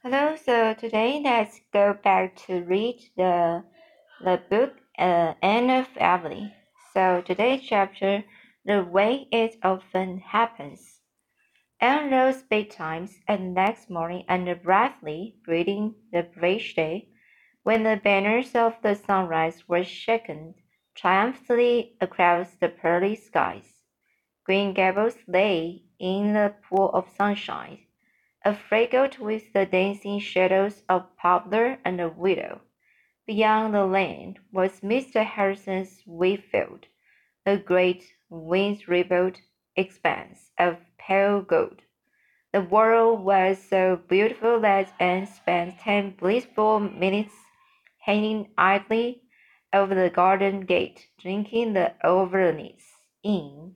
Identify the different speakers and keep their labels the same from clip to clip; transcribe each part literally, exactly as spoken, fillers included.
Speaker 1: Hello, so today let's go back to read the the book uh, Anne of Emily. So today's chapter, The Way It Often Happens. Anne rose betimes and next morning under brightly breathing the fresh day, when the banners of the sunrise were shaken triumphantly across the pearly skies. Green Gables lay in a pool of sunshine, affraggled with the dancing shadows of poplar and willow. Beyond the land was Mister Harrison's wheat field, a great wind-rippled expanse of pale gold. The world was so beautiful that Anne spent ten blissful minutes hanging idly over the garden gate, drinking the Overnice in.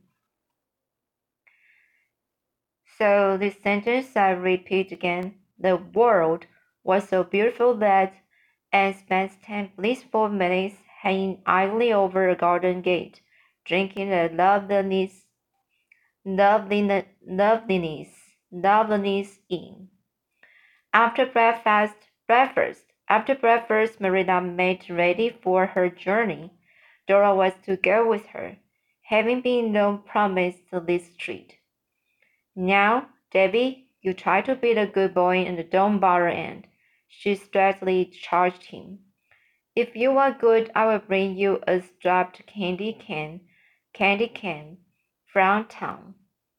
Speaker 1: So this sentence I repeat again. The world was so beautiful that Anne spent ten blissful minutes hanging idly over a garden gate, drinking the loveliness, loveliness, loveliness, loveliness in. After breakfast, breakfast, after breakfast, Marilla made ready for her journey. Dora was to go with her, having been long promised this treat. Now, Davy, you try to be the good boy and don't bother Anne, she straightly charged him. If you are good, I will bring you a striped candy can, candy can from town.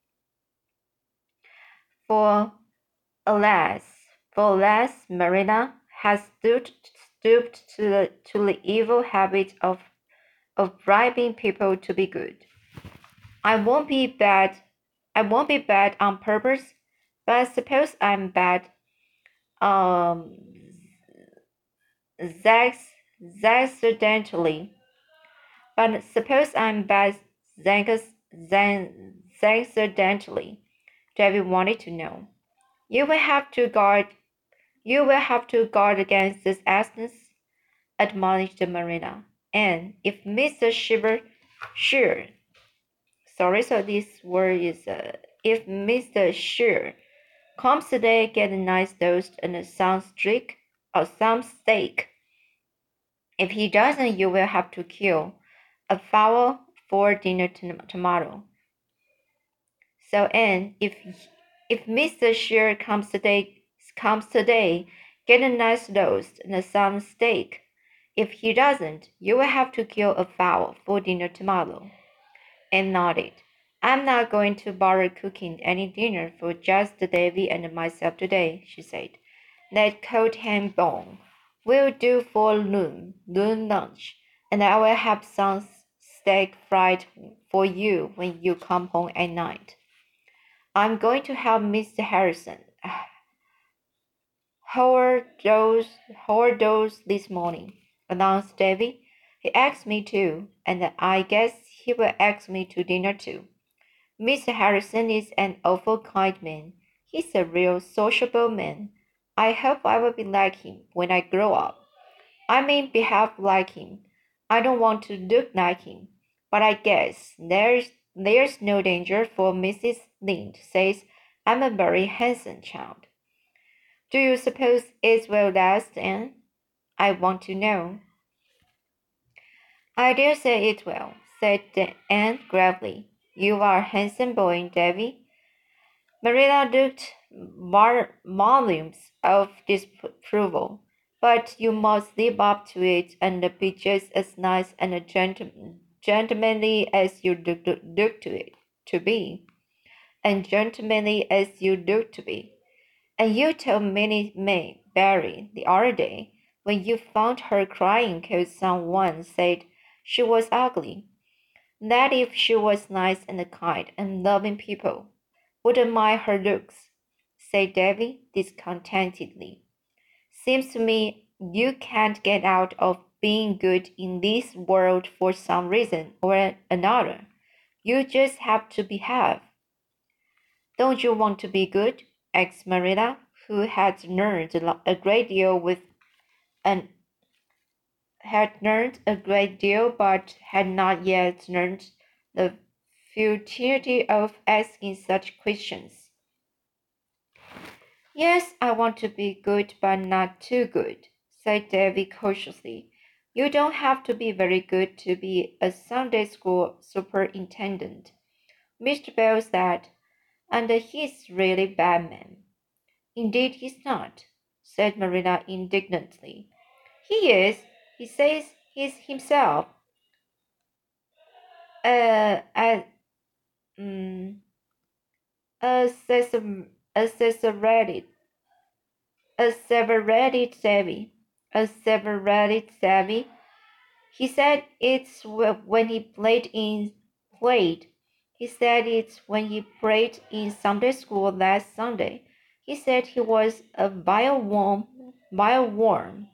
Speaker 1: For alas, for alas, Marina has stooped, stooped to the to the evil habit of of bribing people to be good. I won't be bad. I won't be bad on purpose, but suppose I'm bad um, Zax, accidentally. But suppose I'm bad Zax, accidentally. David wanted to know. You will have to guard. You will have to guard against this accident, admonished Marina. And if Mister Shiver, sure. Sorry, so this word is uh, if Mister Sure comes today, get a nice toast and some streak or some steak. If he doesn't, you will have to kill a fowl for dinner tomorrow. So, Anne, if if Mister Shear comes today, comes today, get a nice roast and some steak. If he doesn't, you will have to kill a fowl for dinner tomorrow. Anne nodded. I'm not going to bother cooking any dinner for just Davy and myself today, she said. That cold ham bone will do for noon, noon lunch, and I will have some steak fried for you when you come home at night. I'm going to help Mister Harrison Howard those Howard those this morning, announced Davy. He asked me to, and I guess he will ask me to dinner too. Mister Harrison is an awful kind man. He's a real sociable man. I hope I will be like him when I grow up. I mean, behave like him. I don't want to look like him, but I guess there's there's no danger, for Missus Lynde says I'm a very handsome child. Do you suppose it will last, Anne? I want to know. I dare say it will, said Anne gravely. You are a handsome boy, Davy. Marilla looked volumes of disapproval. But you must live up to it and be just as nice and gentlemanly as you look, look to it to be, and gentlemanly as you look to be. And you told Minnie May Barry the other day when you found her crying because someone said she was ugly, that if she was nice and kind and loving people wouldn't mind her looks, said Davy discontentedly. Seems to me you can't get out of being good in this world for some reason or another. You just have to behave. Don't you want to be good? Asked Marilla, who had learned a great deal with and had learned a great deal but had not yet learned the futility of asking such questions. Yes, I want to be good, but not too good, said Davy cautiously. You don't have to be very good to be a Sunday school superintendent, Mister Bell said, and he's really bad man. Indeed he's not, said Marilla indignantly. He is, he says he's himself. Uh, a, um, a, a, a Severated Savvy. A Severated Savvy. He said it's when he played in played. He said it's when he played in Sunday school last Sunday. He said he was a vile worm, vile worm,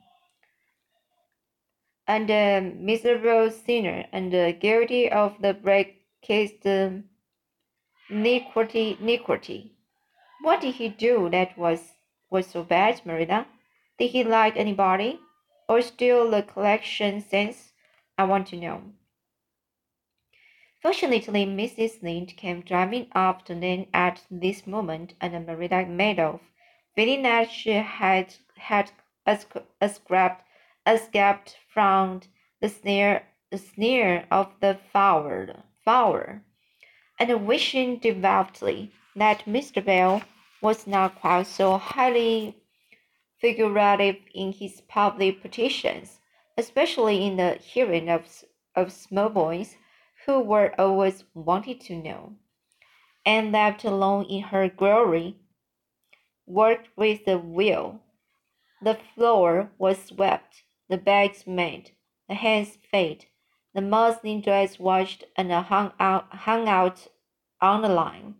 Speaker 1: and a miserable sinner, and uh, guilty of the blackest um, iniquity. iniquity. What did he do that was was so bad, Marina? Did he like anybody? Or steal the collection cents? I want to know. Fortunately, Missus Lynde came driving up to them at this moment, and Marina made off, feeling that she had had escaped, escaped from the snare, the snare of the fowler, fowler, and wishing devoutly that Mister Bell was not quite so highly figurative in his public petitions, especially in the hearing of, of small boys who were always wanted to know. And left alone in her glory, worked with a will. The floor was swept, the bags made, the hens fed, the muslin dress washed and hung out, hung out on the line.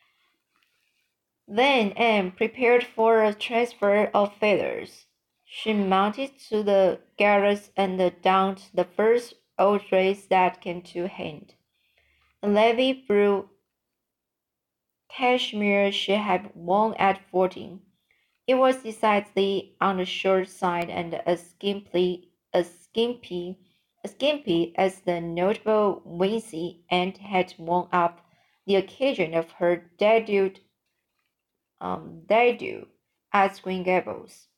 Speaker 1: Then Anne prepared for a transfer of feathers. She mounted to the garret and donned the first old dress that came to hand. A navy blue cashmere she had worn at fourteen. It was decidedly on the short side and as skimpy, as skimpy, as skimpy as the notable Wincy Aunt had worn up the occasion of her debut um, they do at Green Gables.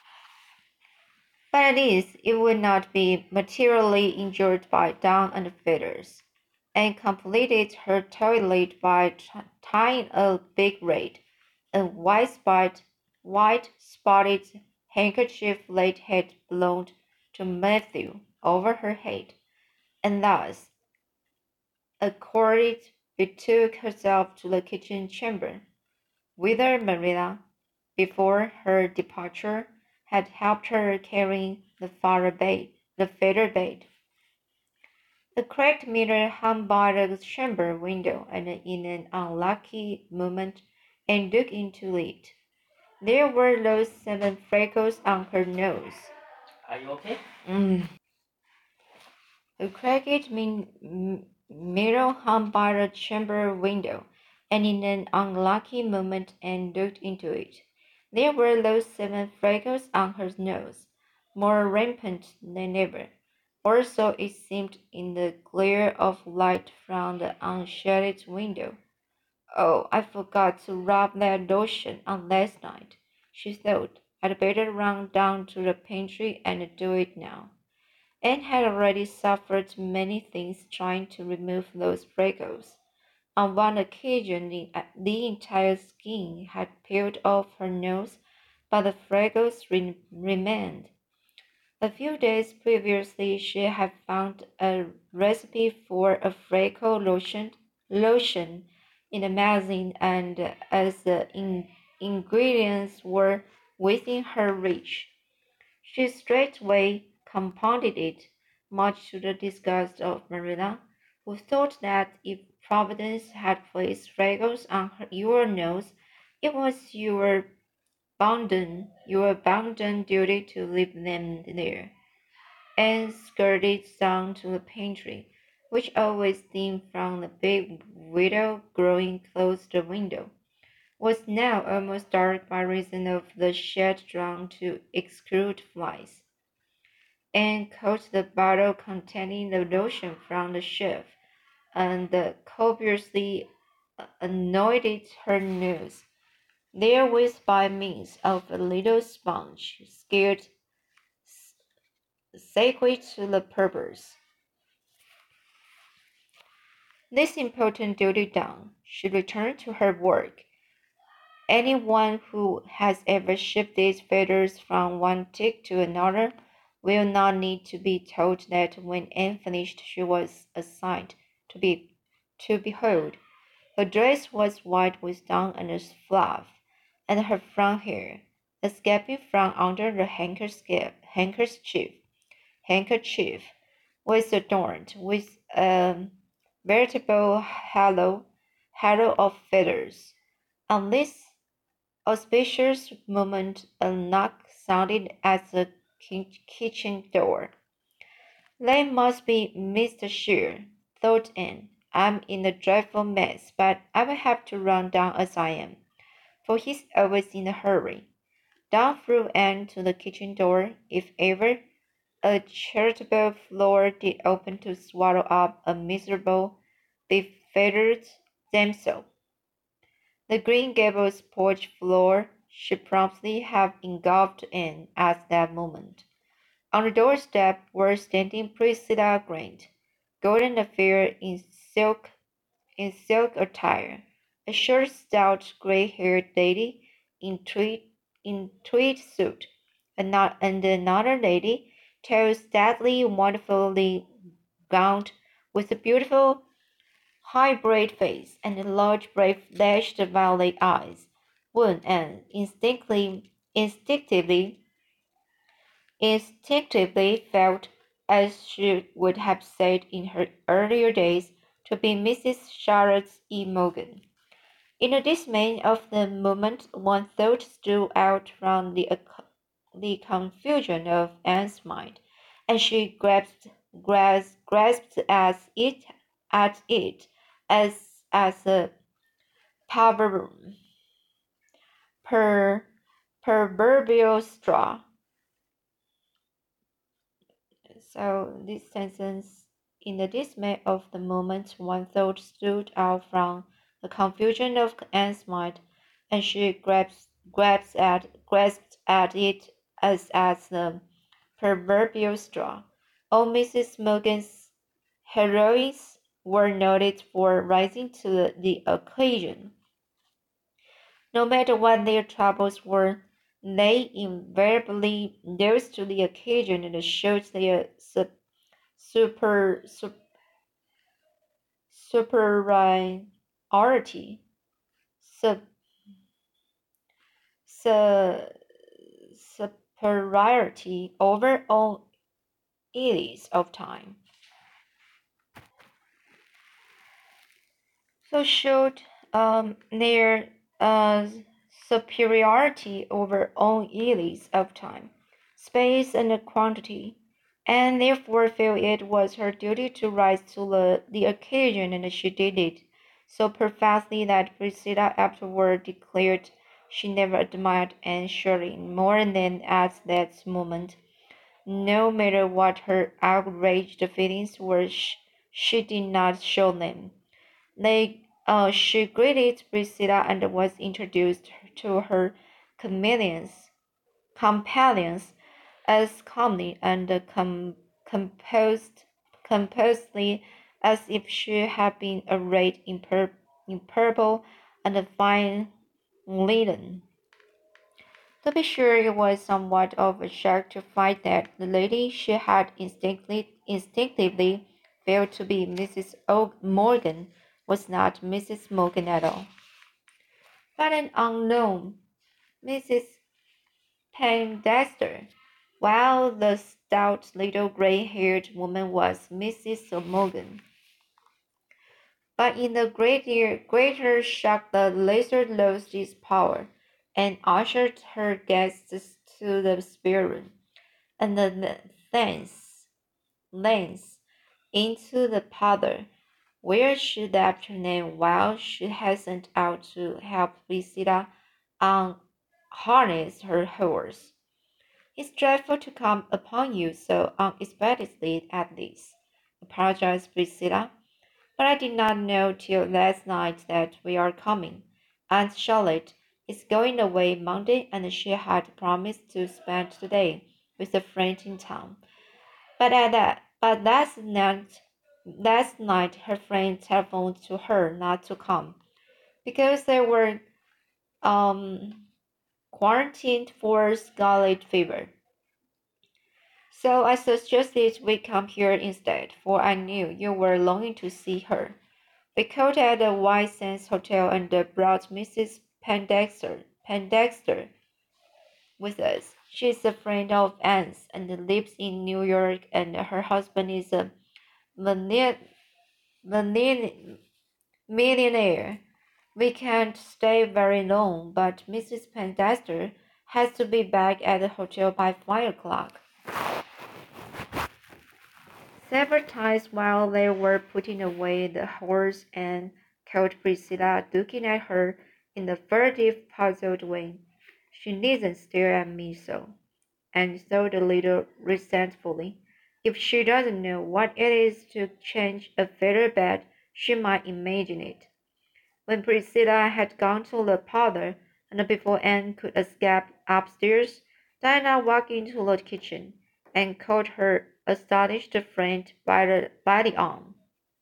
Speaker 1: But at least it would not be materially injured by down and feathers, and completed her toilet by tying a big red, a white spot, white spotted handkerchief Late had belonged to Matthew over her head, and thus, accorded, betook herself to the kitchen chamber, whither Marilla, before her departure, had helped her carrying the fire bed, the feather bed. The cracked mirror hung by the chamber window, and in an unlucky moment and looked into it. There were those seven freckles on her nose. Are you okay? Mm. The cracked min- mirror hung by the chamber window, and in an unlucky moment Anne looked into it. There were those seven freckles on her nose, more rampant than ever, or so it seemed in the glare of light from the unshaded window. Oh, I forgot to rub that lotion on last night, she thought. I'd better run down to the pantry and do it now. Anne had already suffered many things trying to remove those freckles. On one occasion, the, the entire skin had peeled off her nose, but the freckles re- remained. A few days previously, she had found a recipe for a freckle lotion, lotion in a magazine, and as the in- ingredients were within her reach, she straightway compounded it, much to the disgust of Marilla, who thought that if Providence had placed freckles on her, your nose, it was your bounden, your bounden duty to leave them there, and skirted down to the pantry, which always seen from the big window growing close to the window, was now almost dark by reason of the shade drawn to exclude flies, and caught the bottle containing the lotion from the shelf, and copiously anointed her nose. therewith by means of a little sponge, scared sacred to the purpose. This important duty done, she returned to her work. Anyone who has ever shifted feathers from one tick to another will not need to be told that when Anne finished she was a sight to be to behold. Her dress was white with down and fluff, and her front hair, escaping from under the handkerchief, handkerchief, handkerchief was adorned with a veritable halo, halo of feathers. On this auspicious moment, a knock sounded at the kitchen door. "That must be Mister Shear," thought Anne. "I'm in a dreadful mess, but I will have to run down as I am, for he's always in a hurry." Down flew Anne to the kitchen door. If ever a charitable floor did open to swallow up a miserable, befeathered damsel, the Green Gables porch floor should promptly have engulfed Anne at that moment. On the doorstep were standing Priscilla Grant, golden affair in silk in silk attire, a short, stout, grey-haired lady in tweed in tweed suit, and not and another lady, tall, stately, wonderfully gowned, with a beautiful high-bred face and large, brave, lashed violet eyes. One and instinctively, instinctively, instinctively felt, as she would have said in her earlier days, to be Missus Charlotte E. Morgan. In the dismay of the moment, one thought stood out from the, the confusion of Anne's mind, and she grasped, grasped, grasped at it, at it as, as a proverb, per, proverbial straw. So this sentence, in the dismay of the moment, one thought stood out from the confusion of Anne's mind, and she grasped, grasped at grasped at it as at the proverbial straw. All Missus Morgan's heroines were noted for rising to the, the occasion. No matter what their troubles were, they invariably rose to the occasion and showed their su- super, su- superiority, su- su- superiority over all areas of time. So showed um, their uh, superiority over all areas of time, space, and quantity, and therefore felt it was her duty to rise to the, the occasion, and she did it so perfectly that Priscilla afterward declared she never admired Anne Shirley more than at that moment. No matter what her outraged feelings were, she did not show them. They, uh, she greeted Priscilla and was introduced to her companions, companions as calmly and com- composed, composedly as if she had been arrayed in, pur- in purple and fine linen. To be sure, it was somewhat of a shock to find that the lady she had instinctively, instinctively felt to be Missus O- Morgan was not Missus Morgan at all, but an unknown Missus Poindexter, while the stout little gray-haired woman was Missus Morgan. But in the greater, greater shock, the lizard lost its power and ushered her guests to the spare room, and the thence, thence into the parlor, where she left her name while she hastened out to help Priscilla unharness her horse. "It's dreadful to come upon you so unexpectedly at this," apologized Priscilla. "But I did not know till last night that we are coming. Aunt Charlotte, is going away Monday, and she had promised to spend the day with a friend in town. But at that, but last night, last night her friend telephoned to her not to come because they were um quarantined for scarlet fever. So I suggested we come here instead, for I knew you were longing to see her. We called at the White Sands Hotel and brought Missus Pendexter, Pendexter with us. She is a friend of Anne's and lives in New York, and her husband is a millionaire. millionaire. We can't stay very long, but Missus Pendexter has to be back at the hotel by five o'clock. Several times while they were putting away the horse, Anne caught Priscilla looking at her in a furtive, puzzled way. She needn't stare at me so, Anne thought a little resentfully. If she doesn't know what it is to change a feather bed, she might imagine it. When Priscilla had gone to the parlor, and before Anne could escape upstairs, Diana walked into the kitchen and caught her astonished friend by the, by the arm.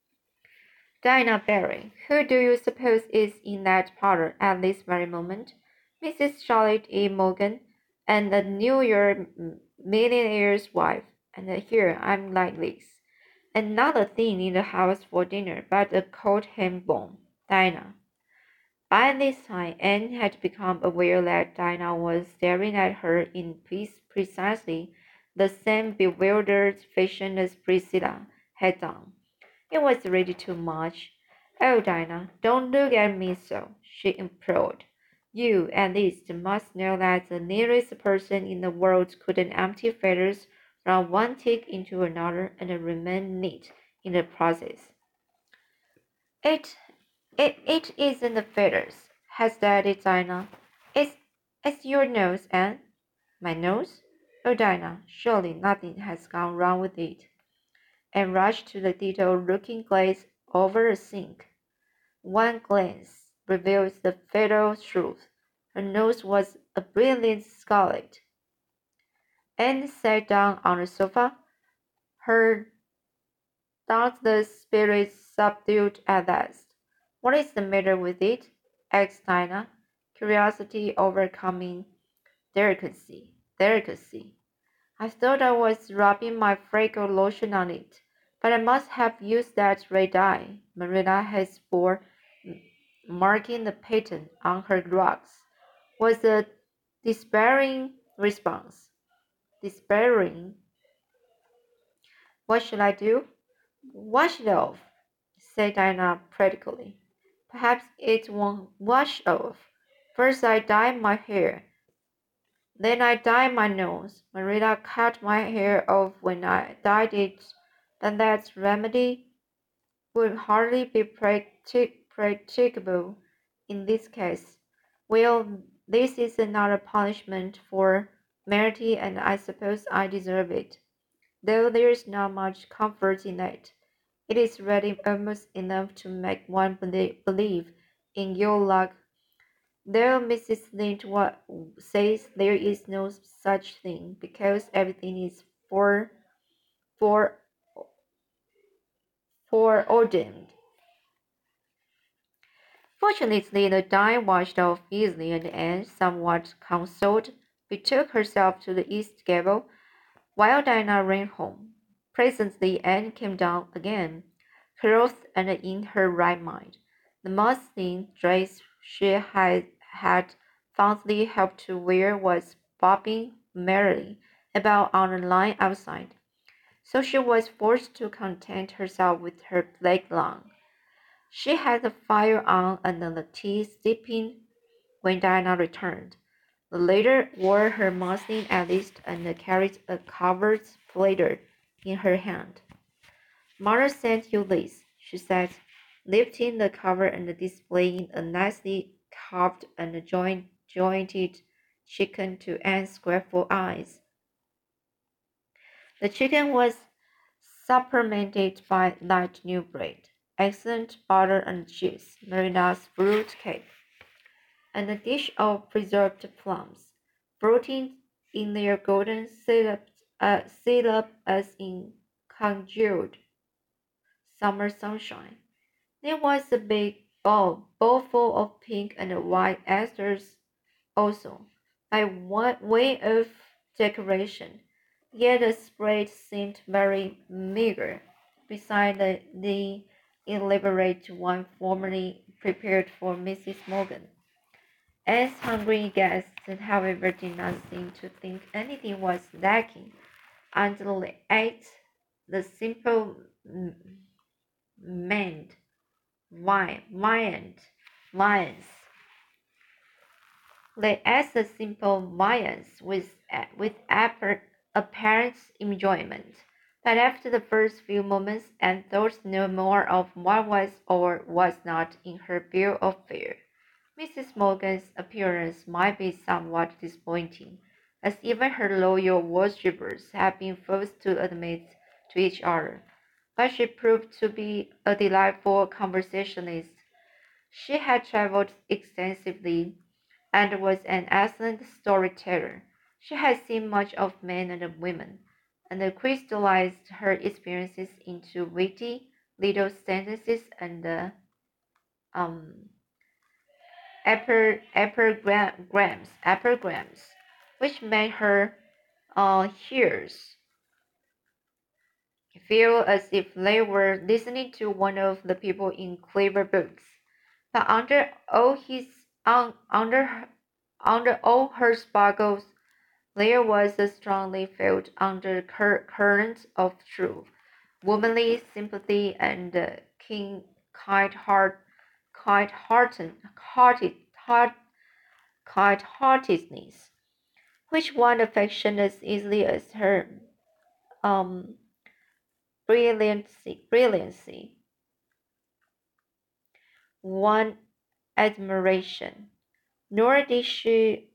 Speaker 1: Diana Barry, who do you suppose is in that parlor at this very moment? Missus Charlotte E. Morgan, and the New York millionaire's wife. And here I'm like this. And not a thing in the house for dinner but a cold ham bone. Diana. By this time, Anne had become aware that Dinah was staring at her in precisely the same bewildered fashion as Priscilla had done. It was really too much. Oh, Dinah, don't look at me so, she implored. You, at least, must know that the nearest person in the world couldn't empty feathers from one tick into another and remain neat in the process. It It, it isn't the feathers, hesitated Dinah. It's, it's your nose, Anne. My nose? Oh, Dinah, surely nothing has gone wrong with it. And rushed to the ditto-looking glass over the sink. One glance reveals the fatal truth. Her nose was a brilliant scarlet. Anne sat down on the sofa, her dauntless spirits subdued at last. What is the matter with it? Asked Dinah, curiosity overcoming delicacy. Delicacy. I thought I was rubbing my freckle lotion on it, but I must have used that red dye Marilla has for marking the pattern on her rugs, was a despairing response. Despairing. What should I do? Wash it off, said Dinah practically. Perhaps it won't wash off. First I dye my hair. Then I dye my nose. Marilla cut my hair off when I dyed it, but that remedy would hardly be practic- practicable in this case. Well, this is another punishment for Merity, and I suppose I deserve it, though there's not much comfort in it. It is really almost enough to make one believe in your luck, though Missus Lynde says there is no such thing because everything is for for foreordained. Fortunately, the dye washed off easily, and Anne, somewhat consoled, betook herself to the east gable, while Diana ran home. Presently, Anne came down again, clothed and in her right mind. The muslin dress she had, had fondly helped to wear was bobbing merrily about on the line outside, so she was forced to content herself with her black lawn. She had the fire on and the tea steeping when Diana returned. The latter wore her muslin at least and carried a covered platter in her hand. Mother sent you this, she said, lifting the cover and displaying a nicely carved and joint, jointed chicken to Anne's grateful eyes. The chicken was supplemented by light new bread, excellent butter and cheese, Marina's fruit cake, and a dish of preserved plums, floating in their golden syrup, uh, syrup as in congealed summer sunshine. There was a big bowl, bowl full of pink and white asters also, by way of decoration. Yet the spread seemed very meager beside the, the elaborate one formerly prepared for Missus Morgan. As hungry guests, however, did not seem to think anything was lacking until they ate the simple manned wine, viand, viands. They ate the simple viands with with apparent enjoyment. But after the first few moments, and thought no more of what was or was not in her bill of fare. Missus Morgan's appearance might be somewhat disappointing, as even her loyal worshippers had been forced to admit to each other, but she proved to be a delightful conversationalist. She had traveled extensively and was an excellent storyteller. She had seen much of men and women, and crystallized her experiences into witty little sentences and uh, um, epigrams, epigrams, which made her uh, hearers feel as if they were listening to one of the people in clever books. But under all his un, under under all her sparkles, there was a strongly felt undercurrent of true womanly sympathy and uh, keen, kind-heart, kind-hearted, hearted, heart, kind-heartedness, which won affection as easily as her um, brilliancy, brilliancy won admiration. Nor did she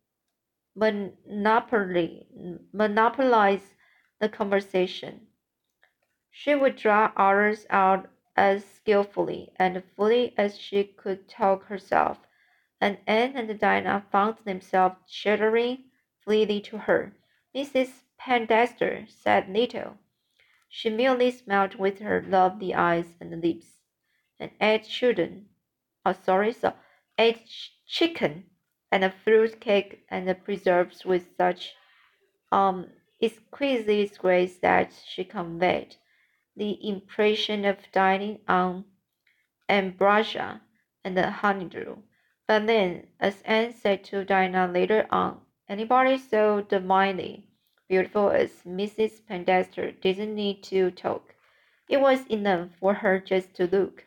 Speaker 1: monopoly, monopolize the conversation. She would draw others out as skillfully and fully as she could talk herself, and Anne and Dinah found themselves chattering freely to her. Missus Pendester said little. She merely smiled with her lovely eyes and lips, and ate children. Oh, sorry, so ate ch- chicken and a fruit cake and the preserves with such um exquisite grace that she conveyed the impression of dining on ambrosia and honeydew. But then, as Anne said to Dinah later on, anybody so divinely beautiful as Missus Pendester didn't need to talk. It was enough for her just to look.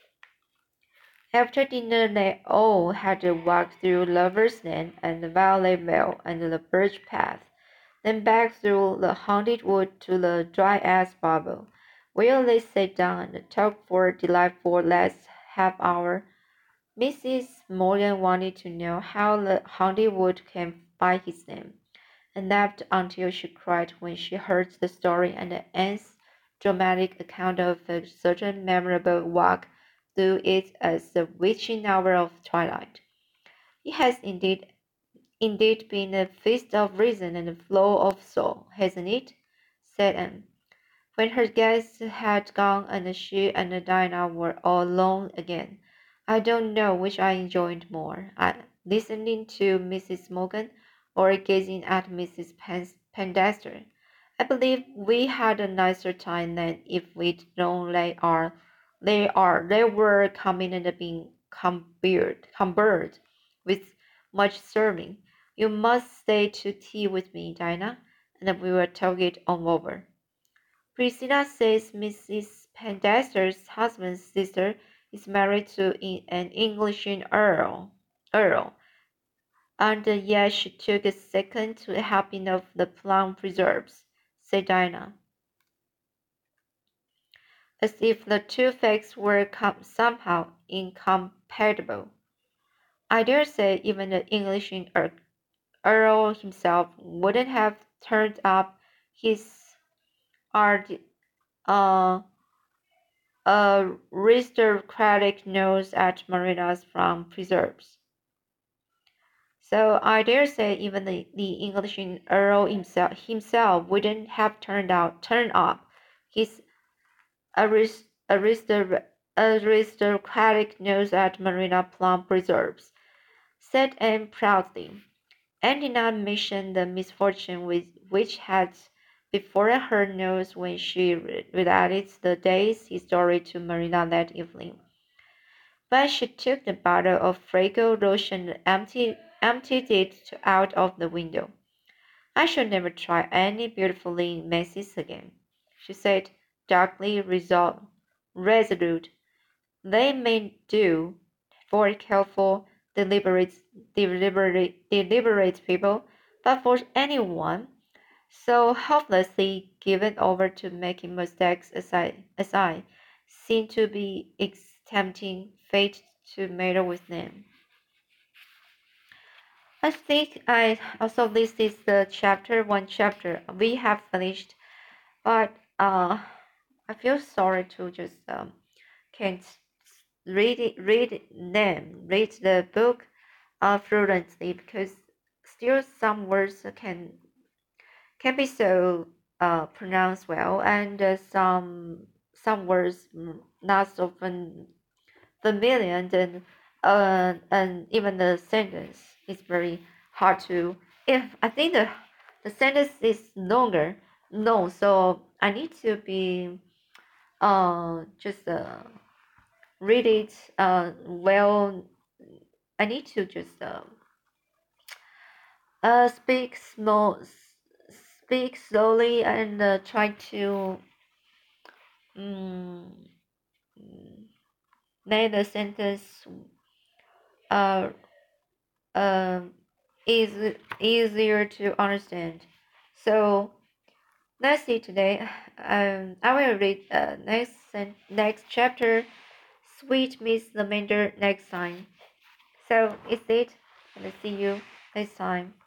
Speaker 1: After dinner, they all had to walk through Lover's Lane and Violet Vale and the Birch Path, then back through the haunted wood to the Dryas Bubble, where they sat down and talked for a delightful last half hour. Missus Morgan wanted to know how the haunted wood came by his name, and laughed until she cried when she heard the story and Anne's dramatic account of a certain memorable walk through it as the witching hour of twilight. It has indeed indeed been a feast of reason and a flow of soul, hasn't it? Said Anne. When her guests had gone and she and Dinah were all alone again, I don't know which I enjoyed more, I, listening to Missus Morgan or gazing at Missus Pendester. I believe we had a nicer time than if we'd known they are, they are, they were coming and being cumbered, cumbered with much serving. You must stay to tea with me, Dinah, and we will talk it all over. Priscilla says Missus Pendester's husband's sister is married to an English earl, earl, and yet she took a second to a helping of the plum preserves, said Dinah, as if the two facts were com- somehow incompatible. I dare say even the English earl, earl himself wouldn't have turned up his ard- uh, a aristocratic nose at Marina's from preserves. So I dare say even the, the English Earl himself himself wouldn't have turned out turned up his arist, aristo, aristocratic nose at Marina Plum Preserves, said Anne proudly, and did not mention the misfortune with, which had before her nose when she related the day's story to Marina that evening. But she took the bottle of fragrant lotion and emptied, emptied it out of the window. I shall never try any beautifully messes again, she said, darkly resolved, resolute. They may do for careful, deliberate, deliberate, deliberate people, but for anyone so hopelessly given over to making mistakes as I, as I seem to be tempting fate to meddle with them. I think I also this is the chapter one chapter we have finished, but uh, I feel sorry to just um can't read it, read them read the book uh, fluently because still some words can can be so uh, pronounced well, and uh, some some words mm, not so fam- familiar, and then, uh, and even the sentence is very hard to. If I think the the sentence is longer, no, so I need to be uh just uh read it uh well. I need to just uh, uh speak small, speak slowly, and uh, try to mm, make the sentence uh, uh, is easier to understand. So let's see today. Um, I will read uh, next sen- next chapter, Sweet Miss Lavender, next time. So is it, and see you next time.